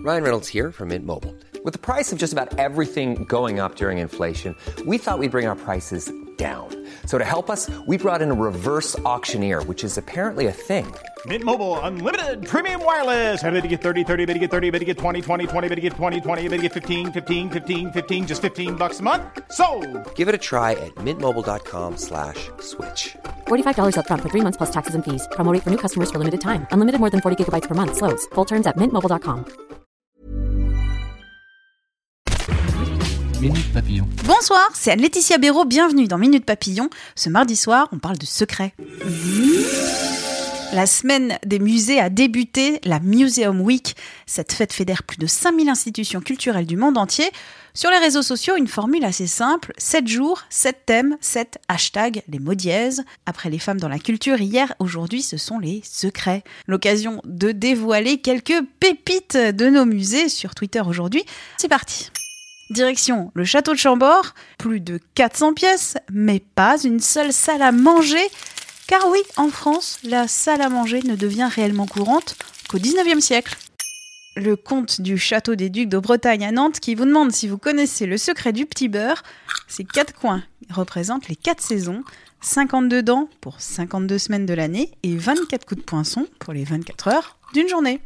Ryan Reynolds here from Mint Mobile. With the price of just about everything going up during inflation, we thought we'd bring our prices down. So to help us, we brought in a reverse auctioneer, which is apparently a thing. Mint Mobile Unlimited Premium Wireless. How to get 30, 30, bit to get 30, bit to get 20, 20, 20, bit to get 20, 20, bit to get 15, 15, 15, 15, just $15 a month? Sold! Give it a try at mintmobile.com/switch. $45 up front for 3 months plus taxes and fees. Promo rate for new customers for limited time. Unlimited more than 40 gigabytes per month. Slows full terms at mintmobile.com. Minute Papillon. Bonsoir, c'est Anne-Laetitia Béraud, bienvenue dans Minute Papillon. Ce mardi soir, on parle de secrets. La semaine des musées a débuté, la Museum Week. Cette fête fédère plus de 5000 institutions culturelles du monde entier. Sur les réseaux sociaux, une formule assez simple, 7 jours, 7 thèmes, 7 hashtags, les mots dièses. Après les femmes dans la culture hier, aujourd'hui ce sont les secrets. L'occasion de dévoiler quelques pépites de nos musées sur Twitter aujourd'hui. C'est parti. Direction le château de Chambord, plus de 400 pièces, mais pas une seule salle à manger. Car oui, en France, la salle à manger ne devient réellement courante qu'au 19e siècle. Le comte du château des Ducs de Bretagne à Nantes qui vous demande si vous connaissez le secret du petit beurre. Ces 4 coins représentent les 4 saisons, 52 dents pour 52 semaines de l'année et 24 coups de poinçon pour les 24 heures d'une journée.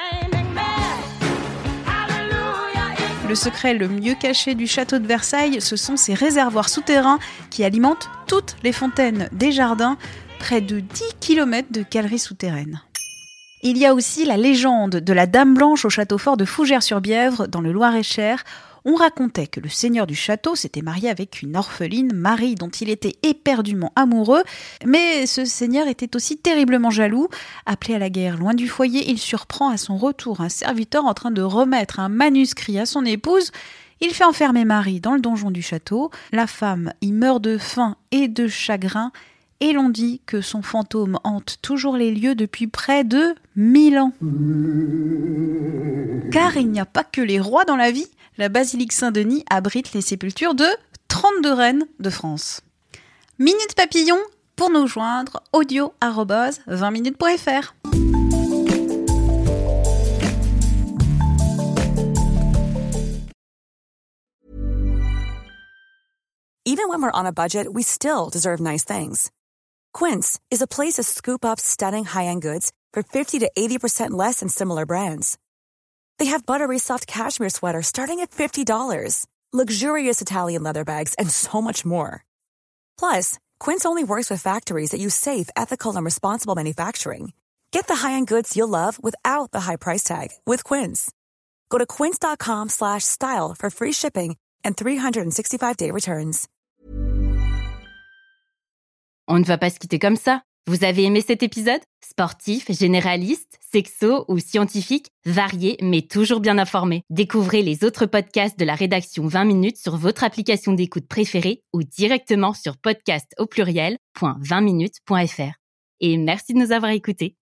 Le secret le mieux caché du château de Versailles, ce sont ces réservoirs souterrains qui alimentent toutes les fontaines des jardins, près de 10 km de galeries souterraines. Il y a aussi la légende de la Dame Blanche au château fort de Fougères-sur-Bièvre, dans le Loir-et-Cher. On racontait que le seigneur du château s'était marié avec une orpheline, Marie, dont il était éperdument amoureux. Mais ce seigneur était aussi terriblement jaloux. Appelé à la guerre loin du foyer, il surprend à son retour un serviteur en train de remettre un manuscrit à son épouse. Il fait enfermer Marie dans le donjon du château. La femme y meurt de faim et de chagrin. Et l'on dit que son fantôme hante toujours les lieux depuis près de 1000 ans. Car il n'y a pas que les rois dans la vie. La basilique Saint-Denis abrite les sépultures de 32 reines de France. Minute Papillon, pour nous joindre, audio@20minutes.fr. Even when we're on a budget, we still deserve nice things. Quince is a place to scoop up stunning high-end goods for 50 to 80% less than similar brands. They have buttery soft cashmere sweaters starting at $50, luxurious Italian leather bags, and so much more. Plus, Quince only works with factories that use safe, ethical, and responsible manufacturing. Get the high-end goods you'll love without the high price tag with Quince. Go to quince.com/style for free shipping and 365-day returns. On ne va pas se quitter comme ça. Vous avez aimé cet épisode ? Sportif, généraliste, sexo ou scientifique, varié mais toujours bien informé. Découvrez les autres podcasts de la rédaction 20 minutes sur votre application d'écoute préférée ou directement sur podcast@20minutes.fr. Et merci de nous avoir écoutés.